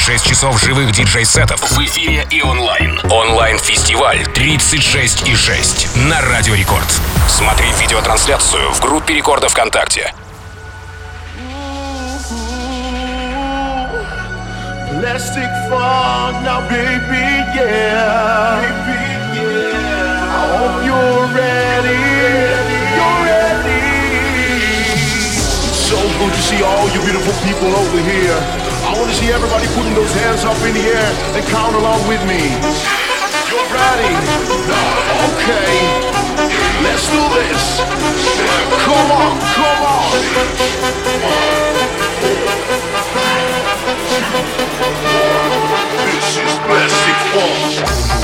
6 часов живых диджей-сетов в эфире и онлайн. Онлайн-фестиваль 36,6 на Радио Рекорд. Смотри видеотрансляцию в группе Рекорда ВКонтакте. Plastic fog now, baby, yeah. Baby, yeah. I hope you're ready. You're ready. So good to see all you beautiful people over here. I want to see everybody putting those hands up in the air and count along with me. You're ready? Okay. Let's do this. Come on, come on. This is Plastic Funk.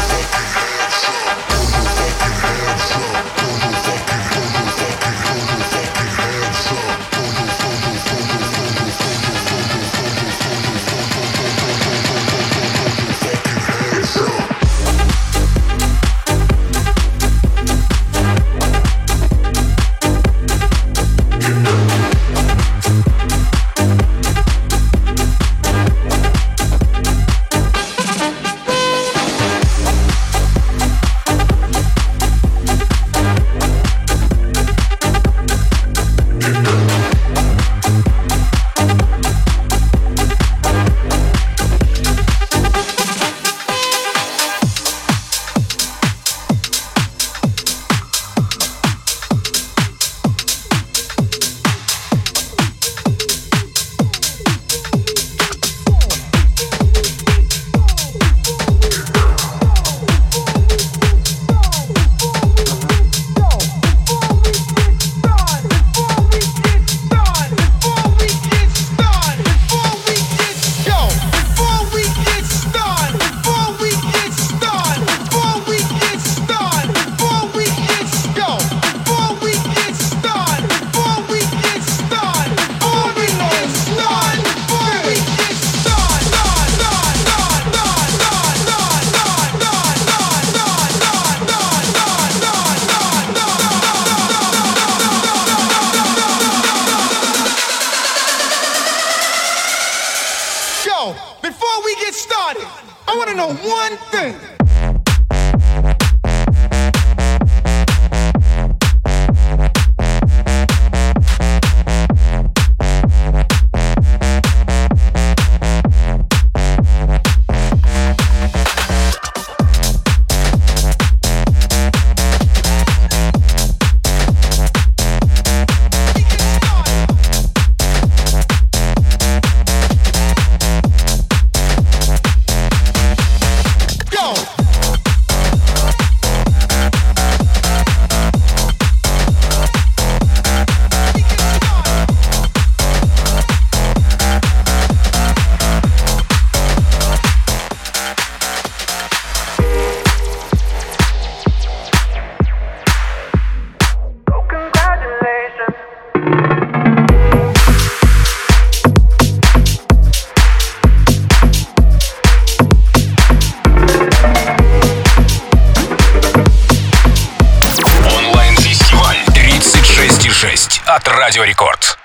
От Радио Рекорд.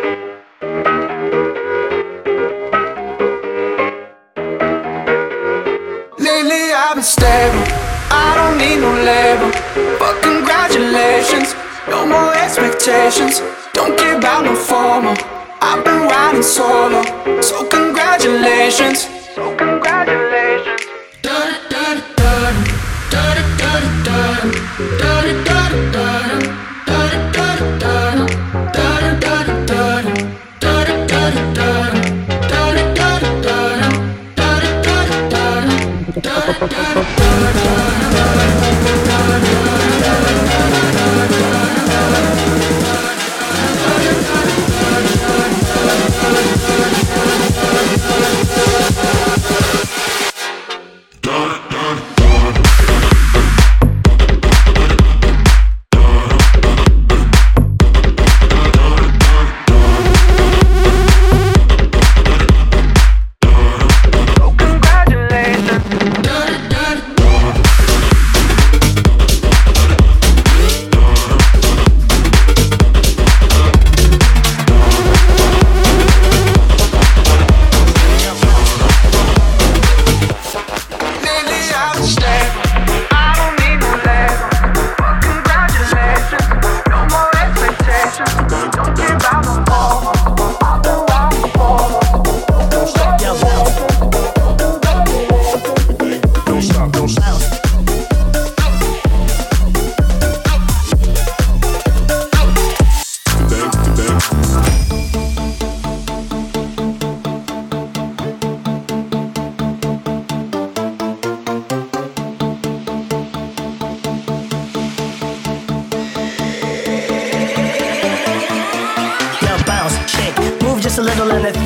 Lately I've been stable, I don't need no label. But congratulations, no more expectations. Don't care about no formal, I've been riding solo. So congratulations, so congratulations.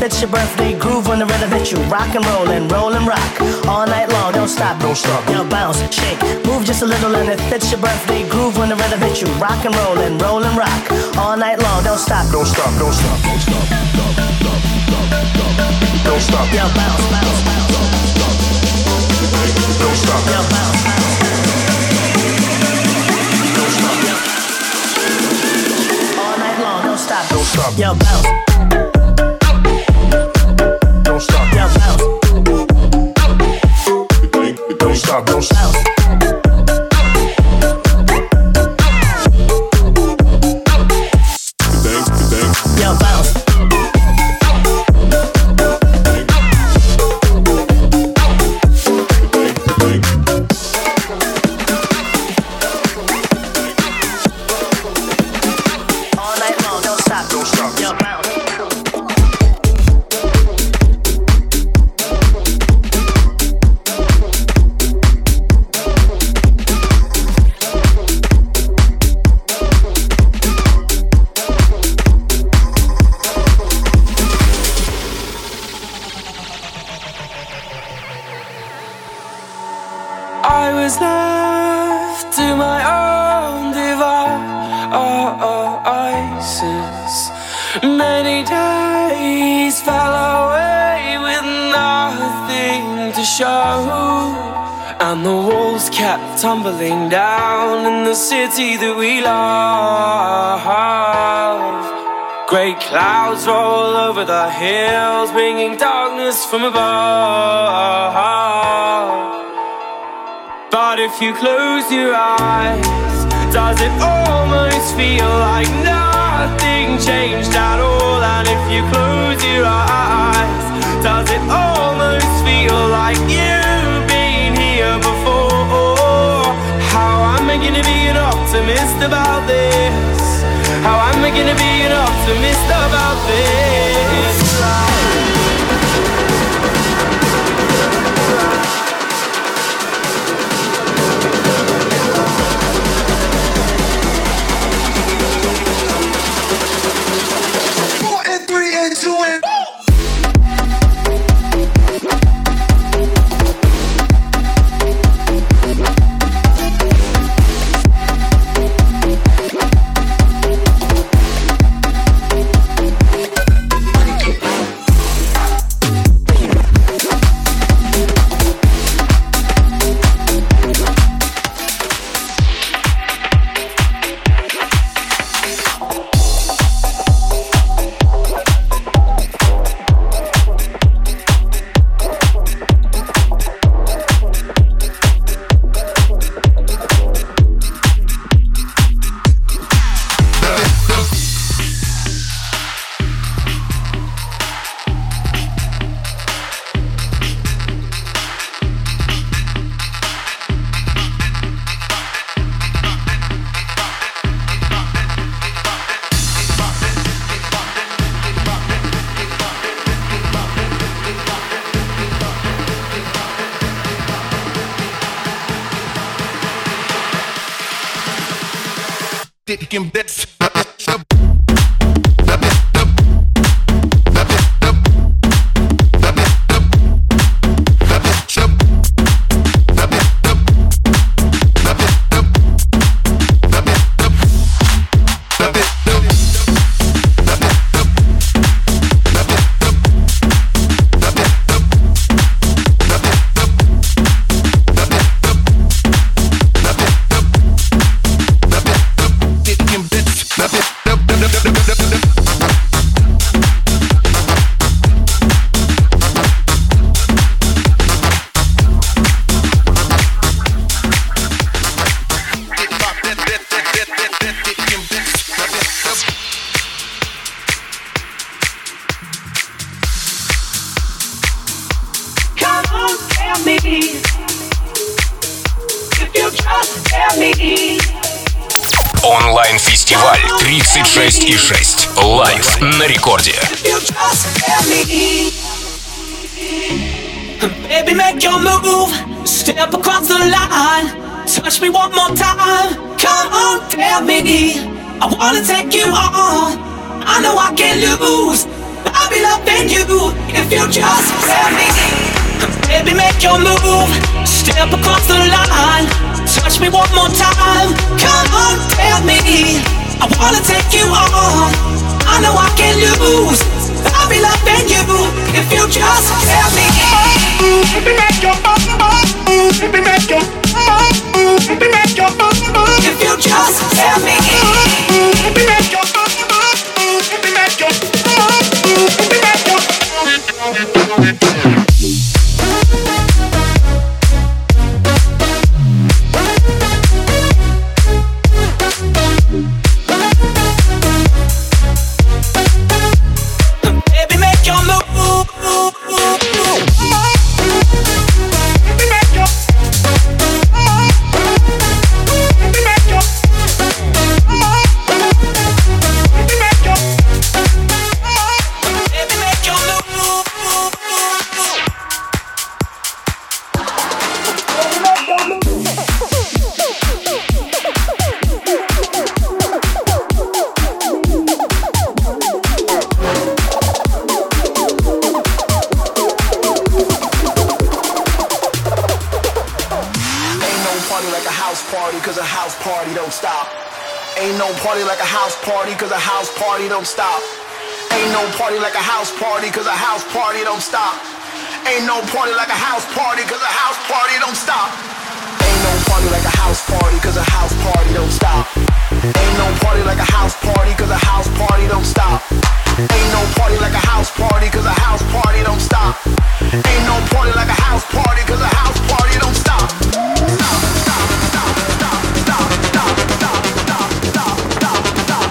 it's your birthday groove when the rhythm hits you. Rock and roll and rock all night long. Don't stop, don't stop. Yo, bounce, shake, move just a little and it fits your birthday groove when the rhythm hits you. Rock and roll and rock all night long. Don't stop, don't stop, don't stop, don't stop, don't stop. Yo, bounce, bounce, bounce. Don't stop. Yo, bounce, bounce. Don't stop. All night long. Don't stop. Don't stop. Yo, bounce. Don't stop. Yo, bounce. Don't stop. Don't stop. Yo, bounce. I was left to my own devices. Many days fell away with nothing to show, and the walls kept tumbling down in the city that we love. Great clouds roll over the hills, bringing darkness from above. But if you close your eyes, does it almost feel like nothing changed at all? And if you close your eyes, does it almost feel like you've been here before? How am I gonna be an optimist about this? How am I gonna be an optimist about this? Taking bits. Онлайн-фестиваль 36,6. Лайв на рекорде. Baby, make your move. Step across the line. Touch me one more time. Come on, tell me. I wanna take you on. I know I can't lose. I I'll be loving you if you just tell me. Baby, make your move, step across the line, touch me one more time. Come on, tell me, I wanna take you on. I know I can lose. I'll be loving you if you just tell me. Baby, make your move, baby, make your move, baby, make your move. If you just tell me, baby, make your move, baby, make your move, baby, make your move. Cause a house party don't stop. Ain't no party like a house party, cause a house party don't stop. Ain't no party like a house party, cause a house party don't stop. Ain't no party like a house party, cause a house party don't stop. Ain't no party like a house party, cause a house party don't stop. Ain't no party like a house party, cause a house party don't stop. Ain't no party like a house party, cause a house party don't stop. Stop, stop, stop, stop, stop, stop, stop, stop, stop, stop, stop.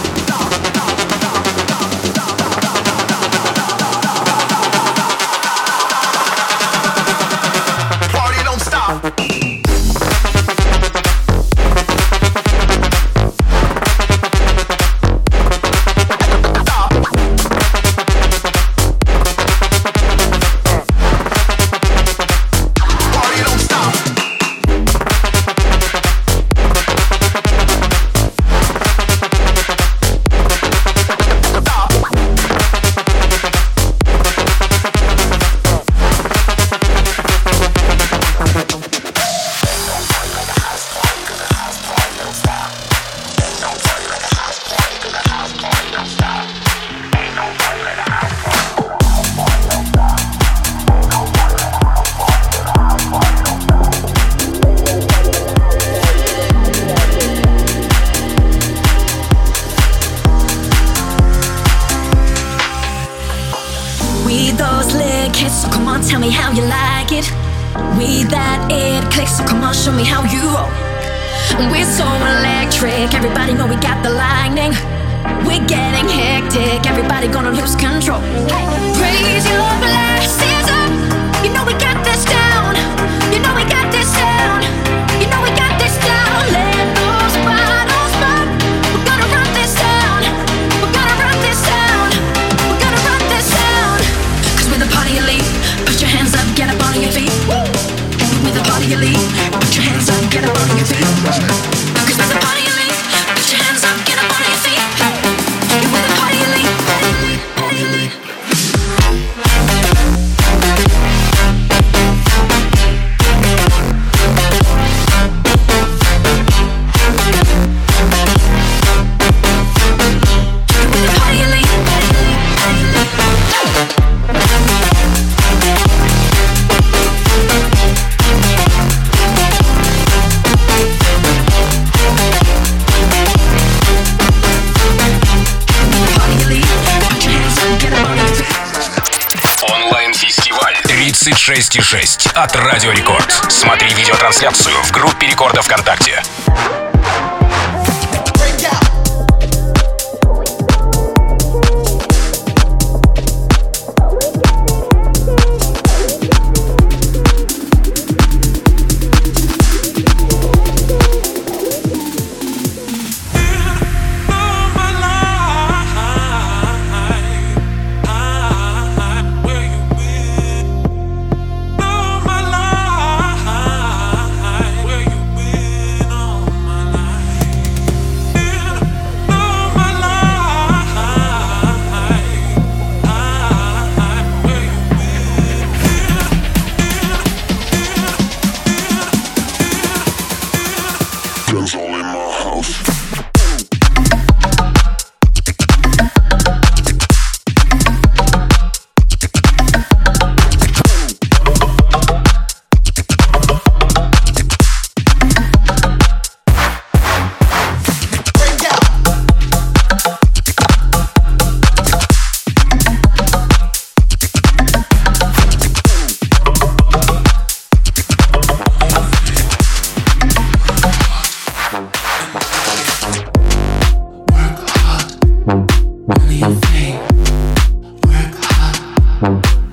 Онлайн-фестиваль 36,6 от Радио Рекорд. Смотри видеотрансляцию в группе Рекорда ВКонтакте.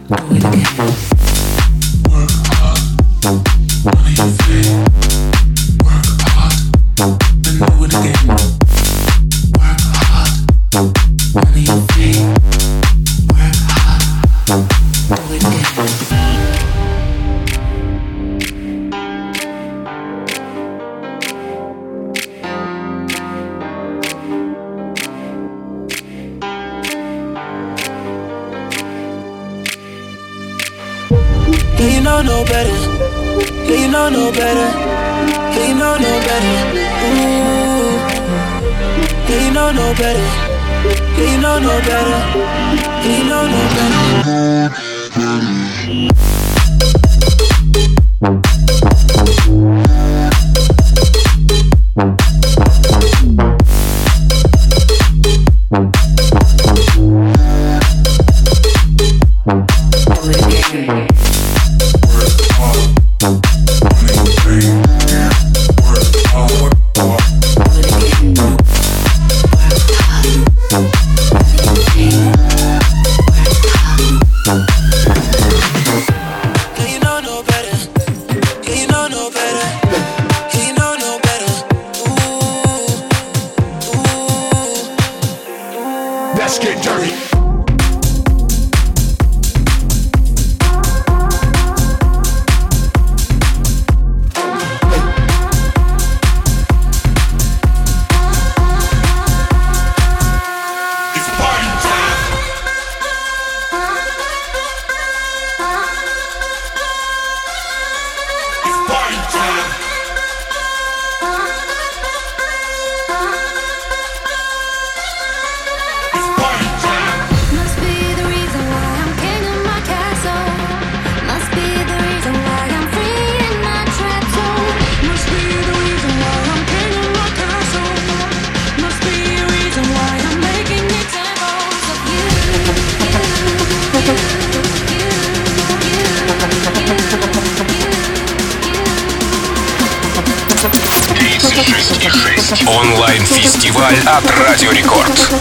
No better. Yeah, you know no better. Yeah, you know no better. Ooh. Yeah, you know no better. Yeah, you know no better. Yeah, you know no better. Онлайн-фестиваль от Радио Рекорд.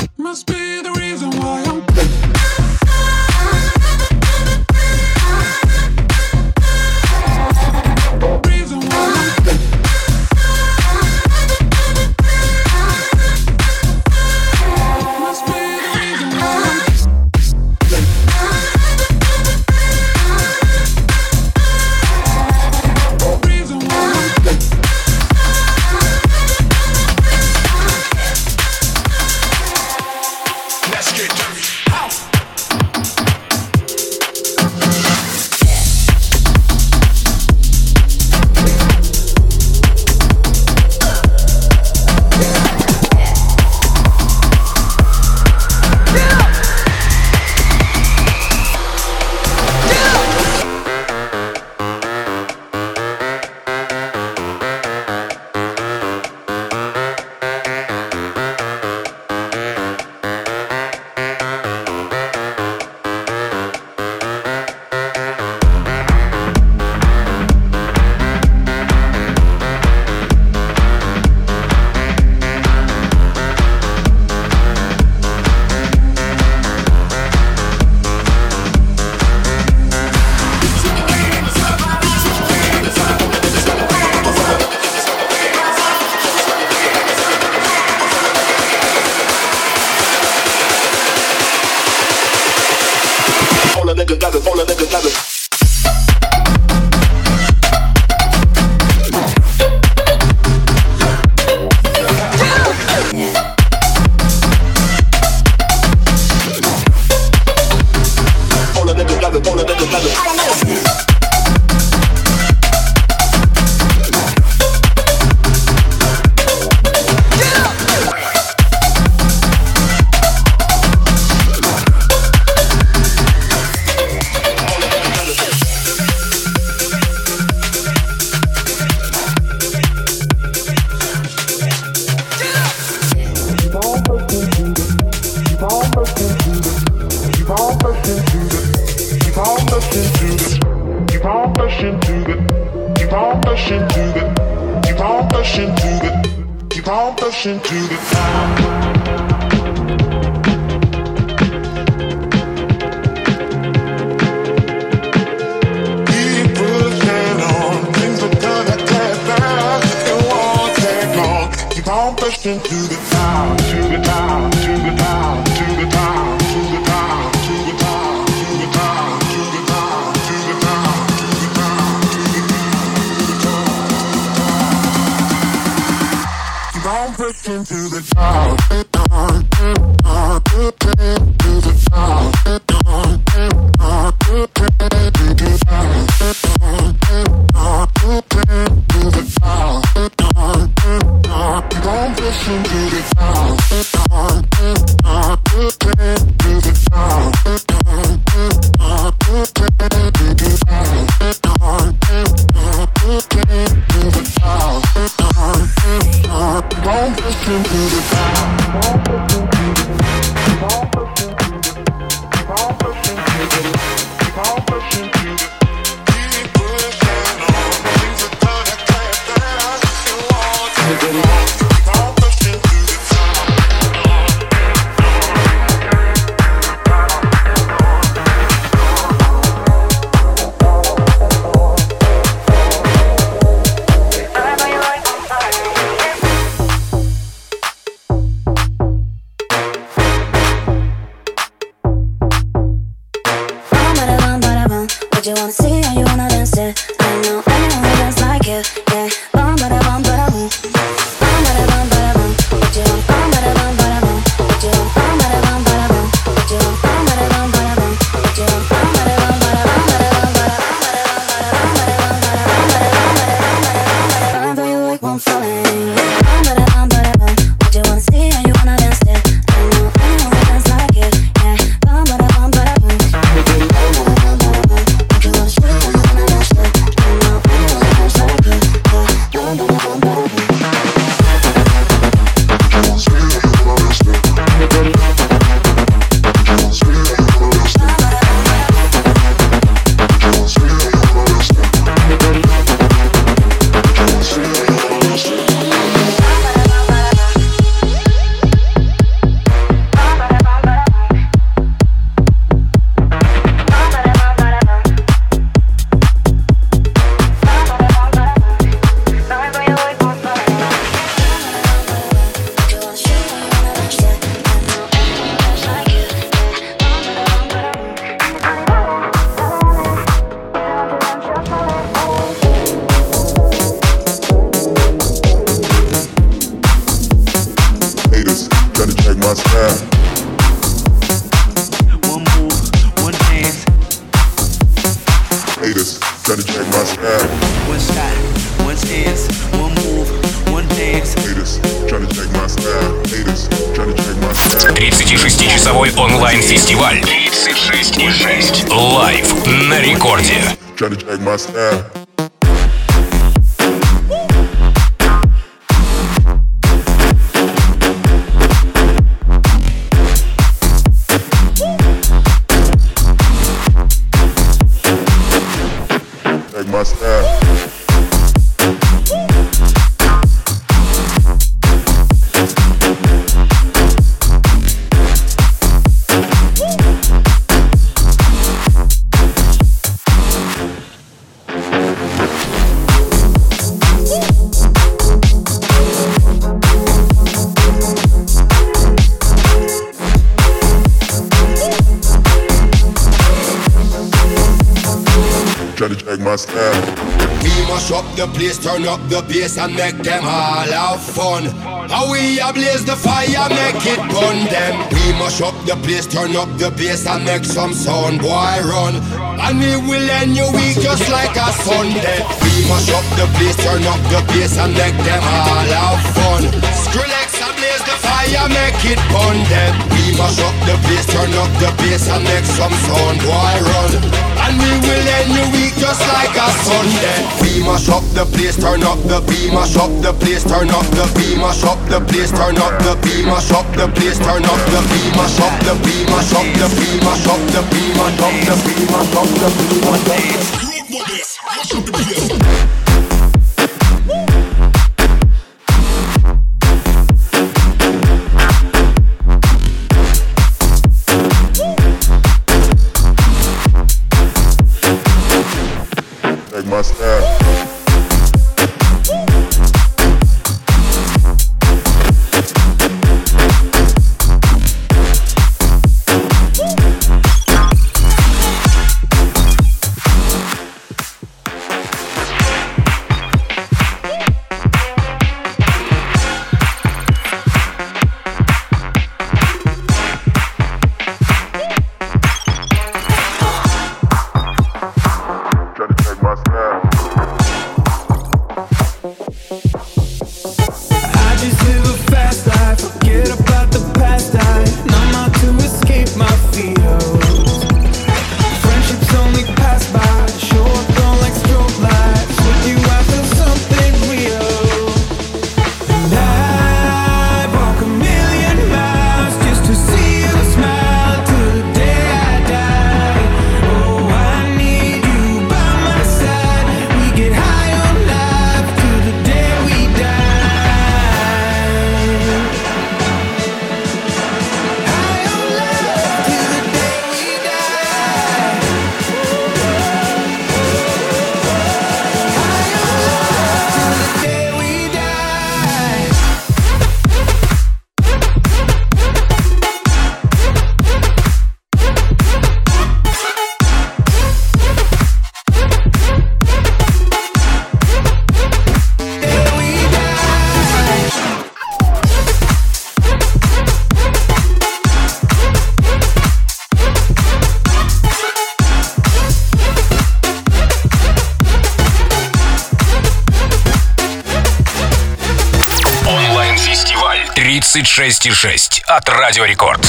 pushing to the top, to the top, to the top, to the top, to the top, to the top, to the top, to the top, to the top, to the top, to the top. Keep on pushing to the top, to the top, to the top, to the top. Шестичасовой онлайн-фестиваль 36,6 лайв на рекорде. We mash up the place, turn up the bass and make them all have fun. How we ablaze the fire, make it burn them. We mash up the place, turn up the bass and make some sound, boy run. And we will end your week just like a Sunday. We mash up the place, turn up the bass and make them all have fun. Skrillex ablaze the fire, make it burn them. We mash up the place, turn up the bass and make some sound, boy run. And we will end your week just like a Sunday. We mash up the place, turn up the beat, mash up the place, turn up the beat, mash up the place, turn up the beat, mash up the place, turn up the beat, mash up the beat, mash up the beat, mash up the beat, mash up the beat, mash up the beat, mash up the beat. My style. 36,6 от Радио Рекорд.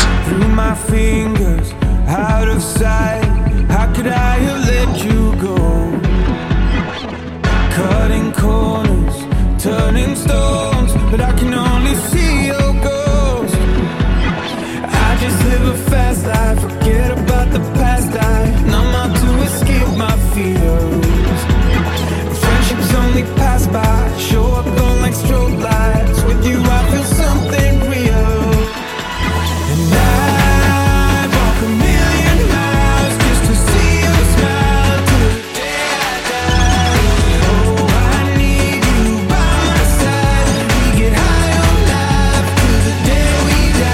Cutting corners, turning stones, but I can only see your ghost. I just live a fast life, forget about the past. I numb out to escape my fears. Friendships only pass by, show up gone like strobe lights. With you I feel something real. And I walk a million miles just to see you smile till the day I die. Oh, I need you by my side. We get high on life till the day we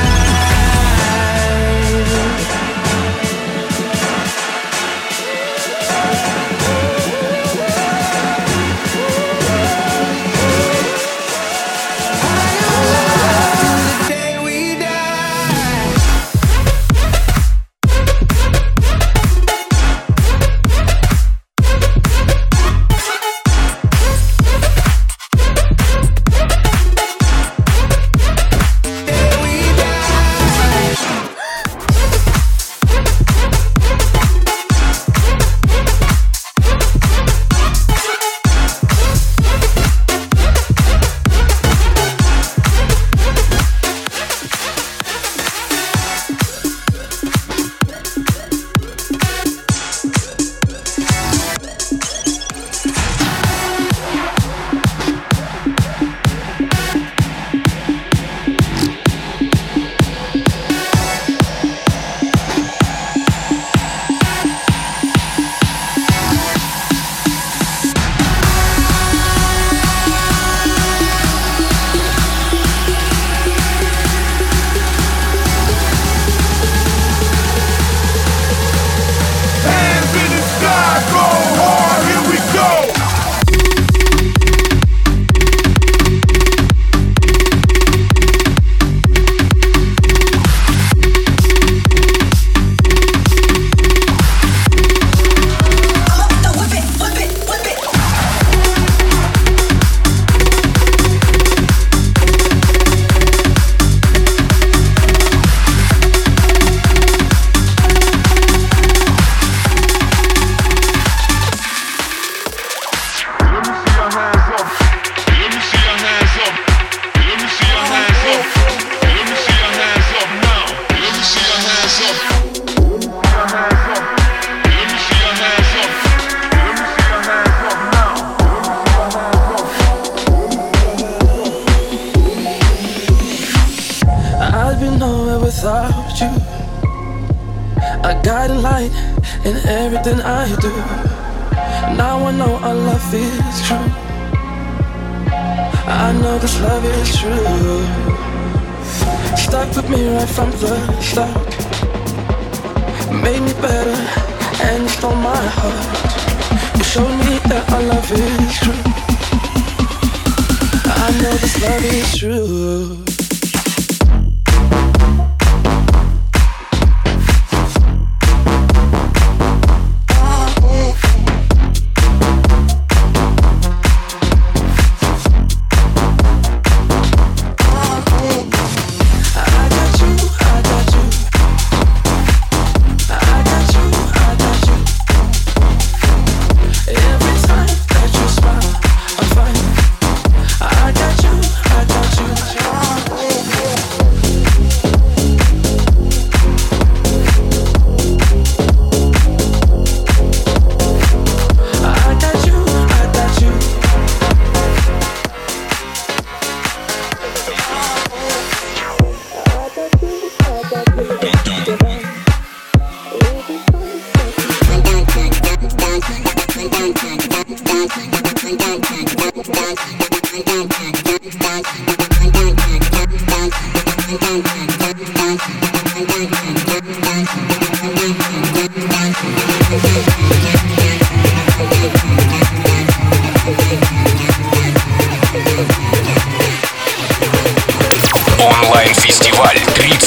Онлайн-фестиваль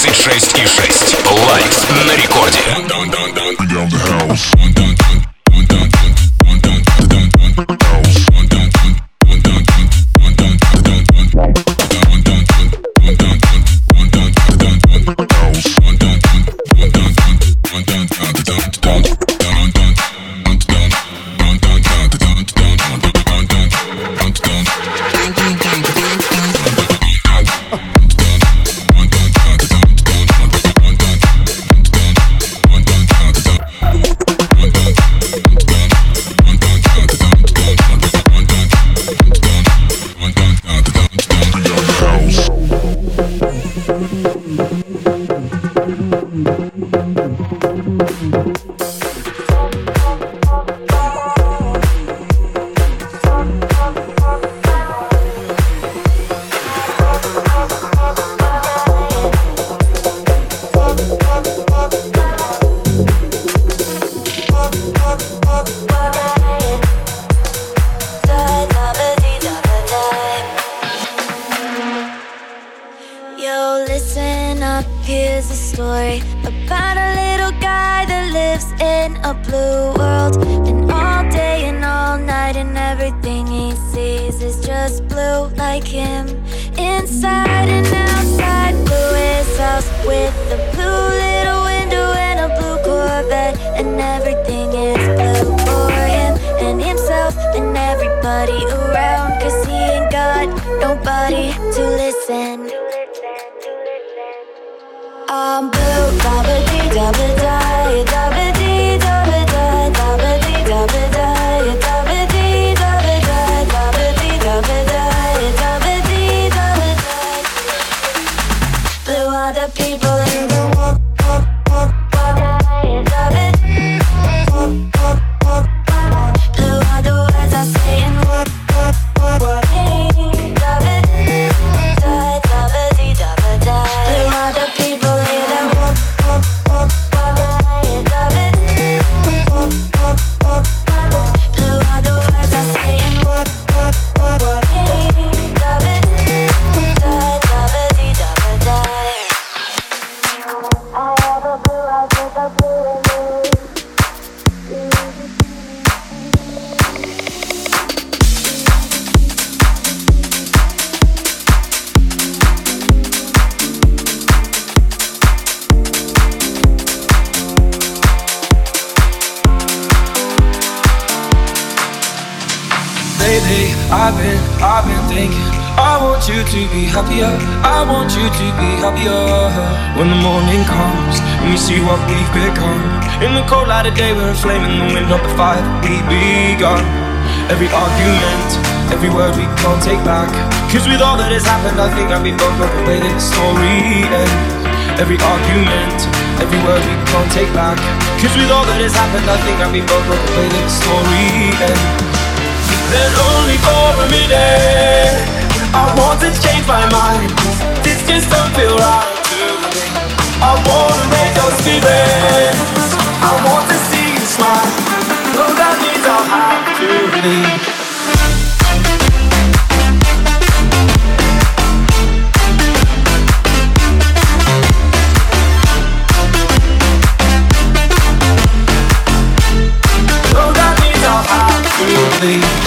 36,6. Лайв на рекорде. story about a little guy that lives in a blue world. And all day and all night and everything he sees is just blue like him. Inside and outside, blue his house with a blue little window and a blue Corvette. And everything is blue for him and himself and everybody around. Cause he ain't got nobody to listen. I'm blue, da-ba-dee, da-ba-da, da-ba-dee, da-ba-da, da-ba-dee, da-ba-da, da-ba-dee, da-ba-da, da-ba-dee, da-ba-da, da-ba-dee, da-ba-da. Blue are the people in the walk, da-ba-dee, blue are the words I say and walk, da-ba-dee, da-ba-dee, da-ba-da. Blue are the people. I've been thinking, I want you to be happier, I want you to be happier. When the morning comes and we see what we've become, in the cold light of day we're a flame in the wind of the fire we begun. Every argument, every word we can't take back, cause with all that has happened I think that we both love the way that the story ends. Every argument, every word we can't take back, cause with all that has happened I think that we both love the way that the story ends. Then only for a minute I want to change my mind. This just don't feel right to me. I wanna raise your spirits, I want to see you smile. Though that means I'll have to leave. Though that means I'll have to leave.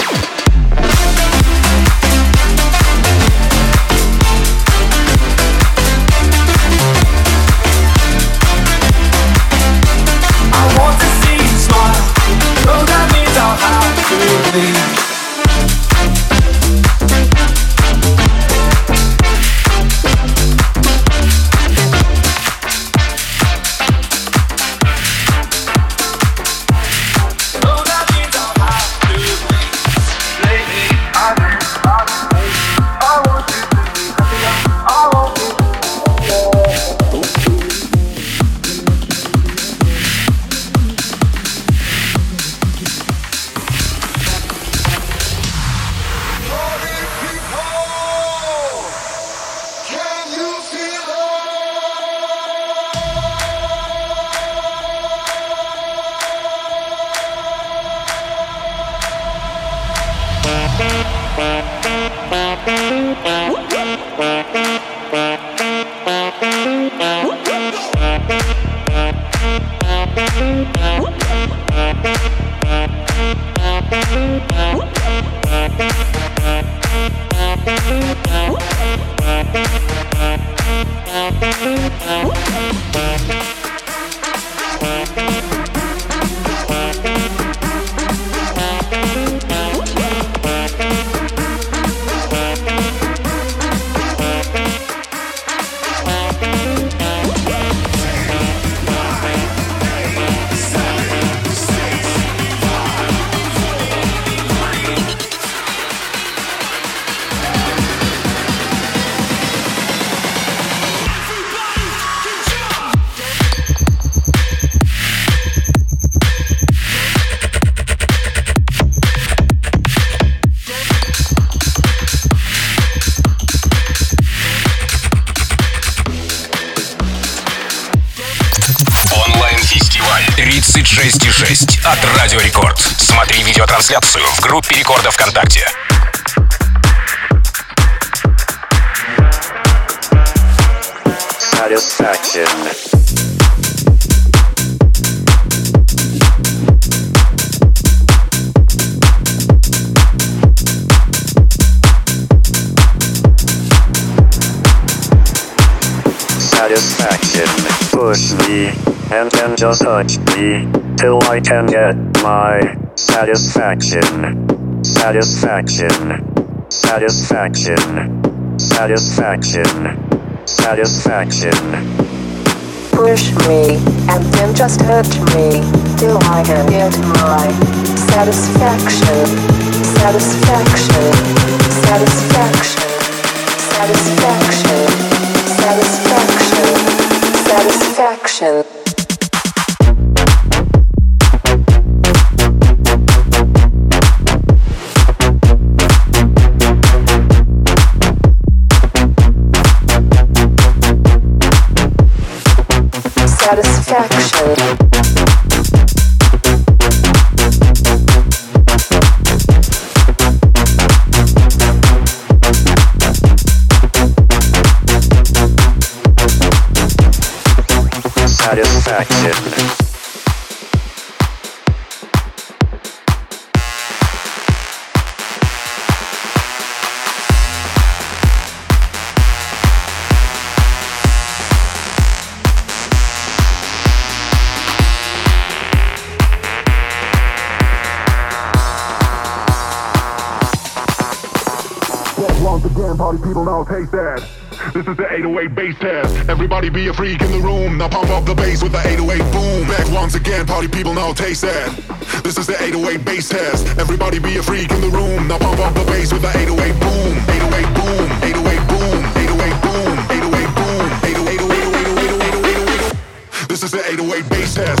Онлайн-фестиваль 36,6 от Радио Рекорд. Смотри видеотрансляцию в группе Рекорда ВКонтакте. Satisfaction. satisfaction. Push me, and then just touch me, till I can get my satisfaction. Satisfaction. Satisfaction. Satisfaction. Satisfaction. Push me, and then just touch me, till I can get my satisfaction. Satisfaction. Satisfaction. Satisfaction. Satisfaction. Satisfaction. Satisfaction. Once again, party people now taste that. This is the 808 bass test. Everybody be a freak in the room. Now pump up the bass with the 808 boom. Back once again, party people now taste that. This is the 808 bass test. Everybody be a freak in the room. Now pump up the bass with the 808 boom. 808 boom. 808 boom. 808 boom. 808 boom. 808. This is the 808 bass test.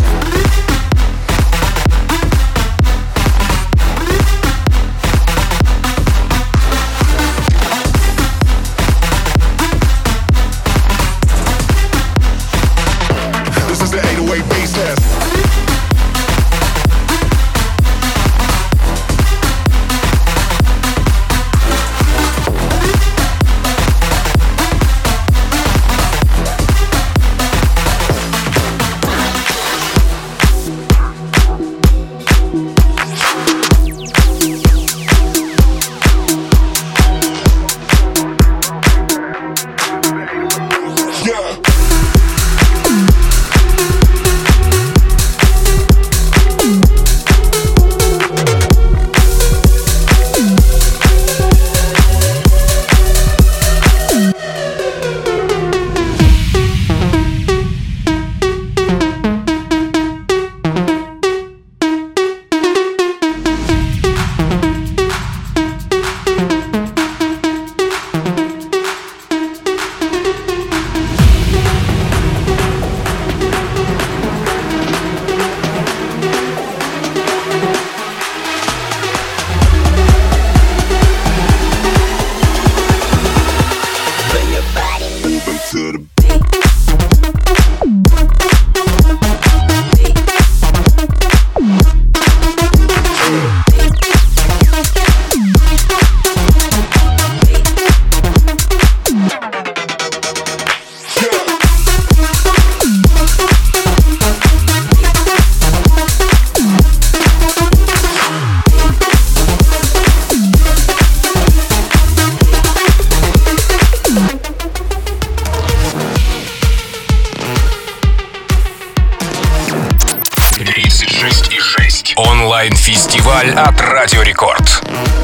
Онлайн-фестиваль от Радио Рекорд.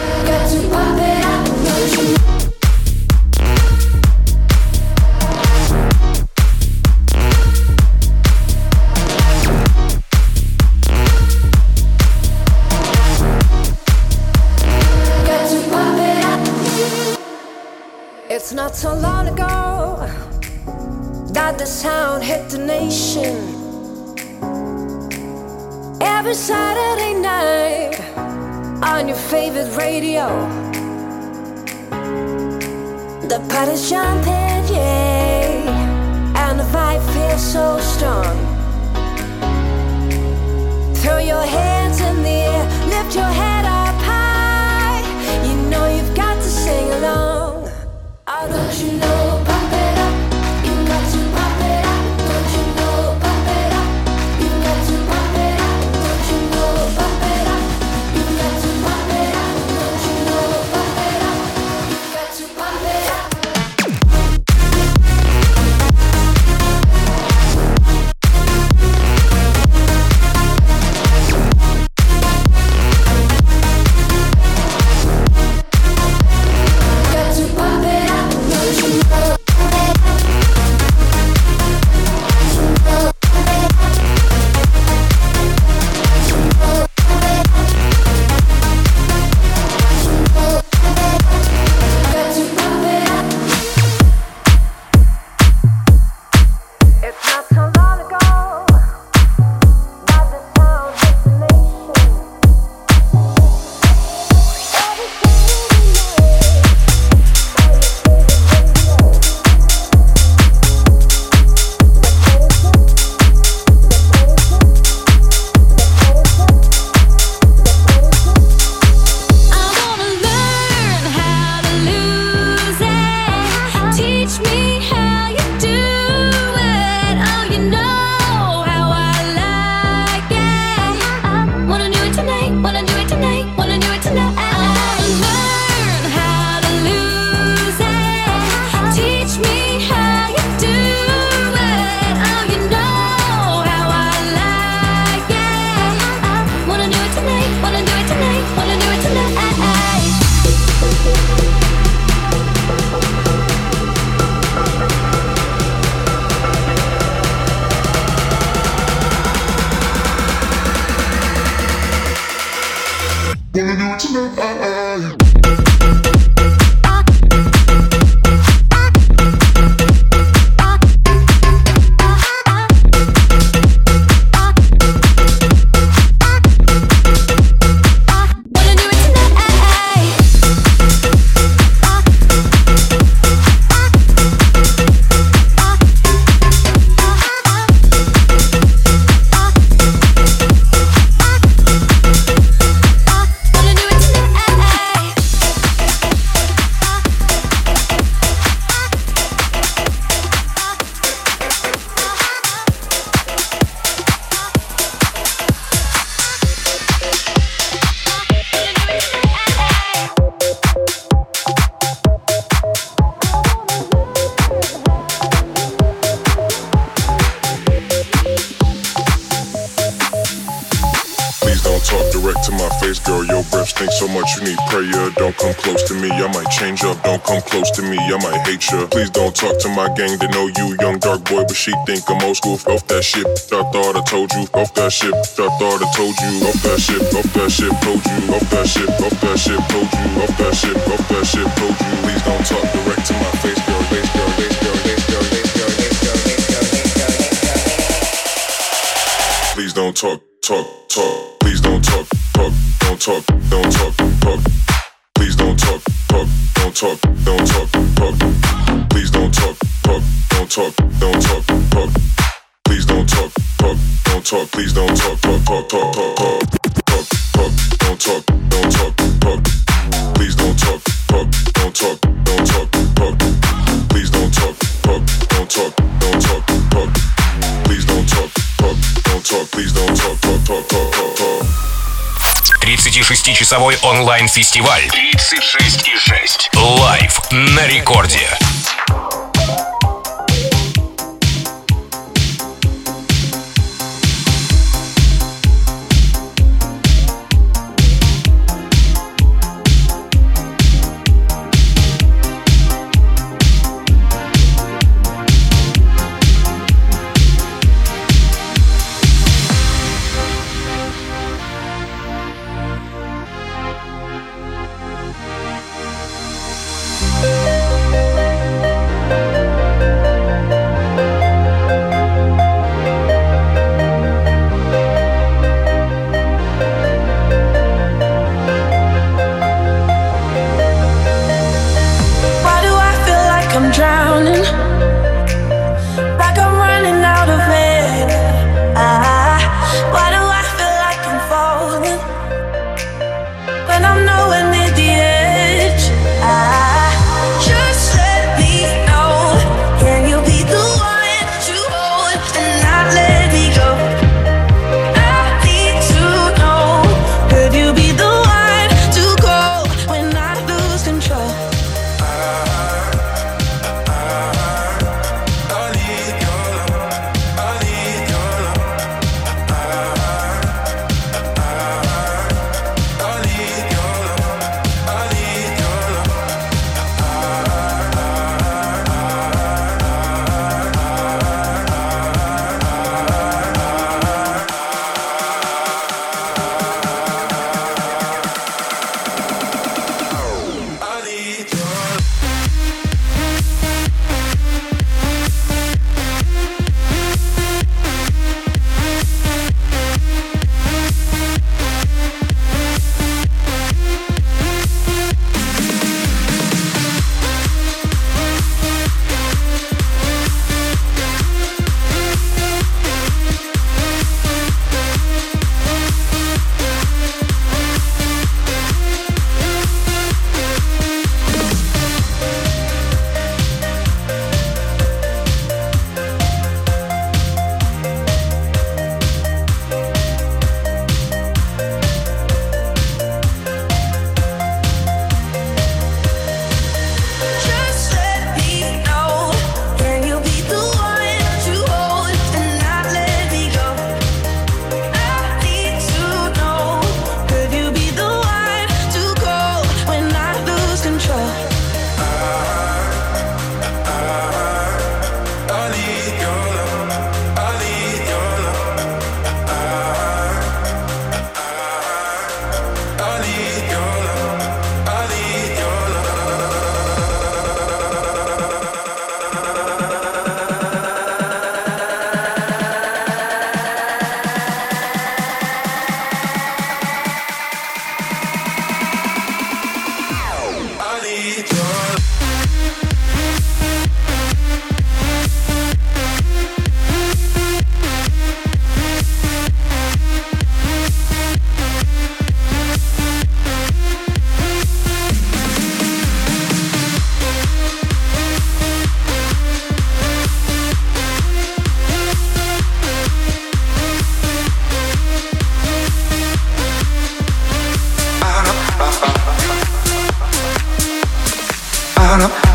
It's not so long ago that the sound hit the nation. Every Saturday night on your favorite radio, the party's jumping, yeah, and the vibe feels so strong. Throw your hands in the air, lift your head up high. You know you've got to sing along. Oh, don't you know, pump it up. You got to pump it up. Don't you know, pump it up. You got to pump it up. Don't you know, pump it up. You got to pump it up. Don't you know, pump it up. You got to pump it up. Wanna do it tonight. So much you need prayer. Don't come close to me, I might change up. Don't come close to me, I might hate ya. Please don't talk to my gang, they know you young dark boy, but she think I'm old school. Off that shit, I thought I told you. Off that shit, I thought I told you. Off that shit, told you. Off that shit, told you. Off that shit, told you. Please don't talk direct to my face, girl. Face, girl, face, girl, face, girl, face, girl, face, girl, face, girl, face, girl, face, girl, face, girl. Please don't talk. Please don't talk. Don't talk. Please don't talk. Don't talk. Please don't talk. Don't talk. Please don't talk. Don't talk. Please don't talk. Talk. Don't talk. Please don't talk. Don't talk. Please don't talk. Don't talk. Please don't talk. Don't talk. Please don't talk. 36-часовой онлайн-фестиваль 36,6 Лайв на рекорде.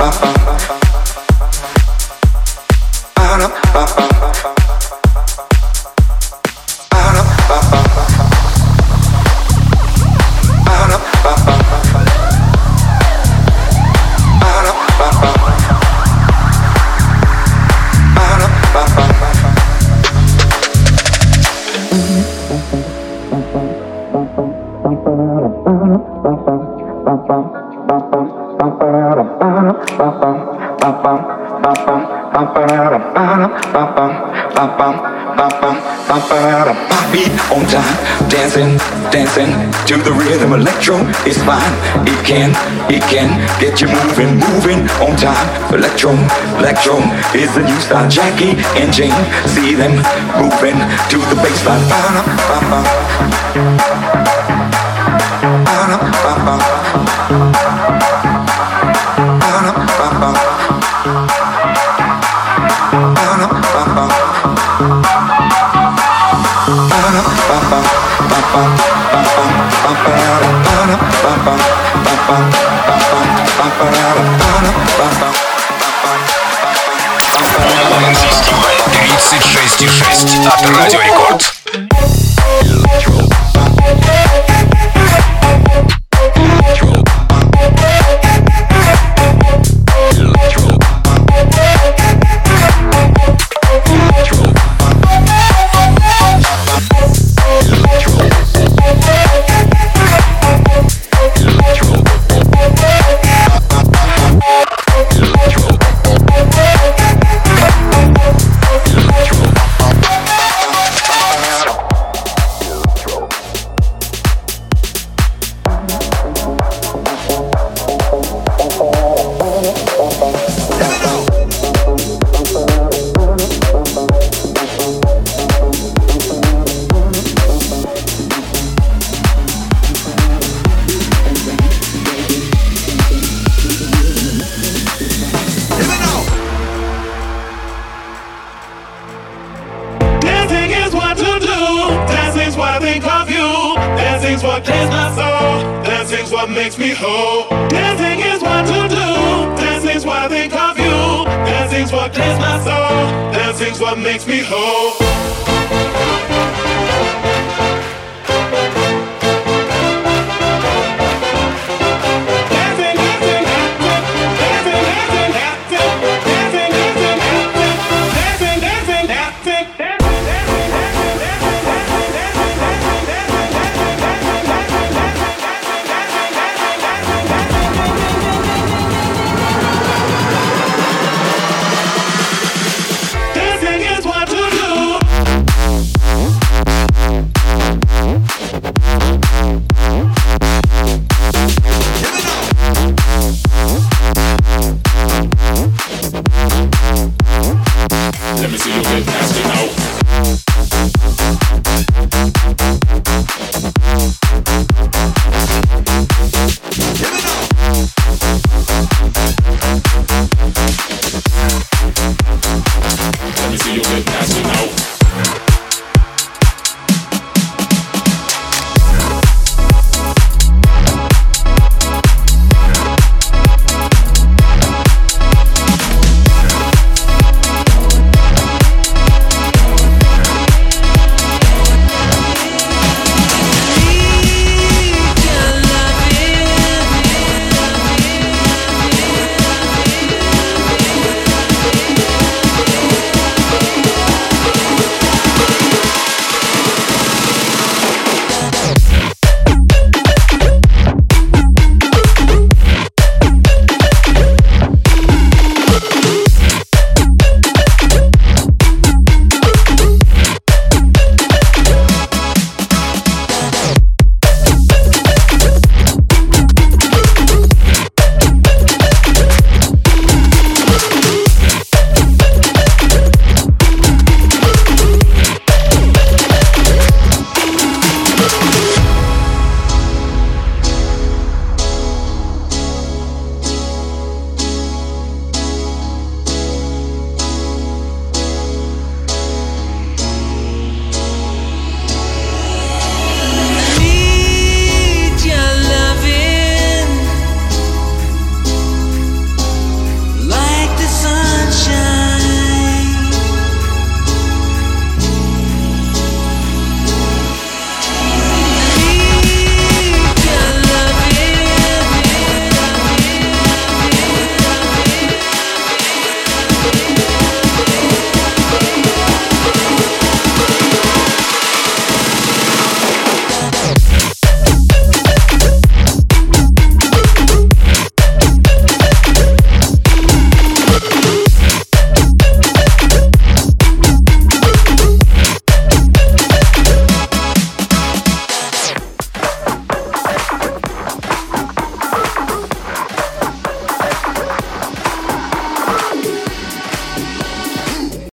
Beat on time, dancing, dancing to the rhythm. Electro is fine. It can get you moving, moving on time. Electro is the new style. Jackie and Jane, see them moving to the bassline. Онлайн-фестиваль 36,6 от Радио Рекорд. Makes me whole. Dancing is what to do. Dancing's what I think of you. Dancing's what clears my soul. Dancing's what makes me whole.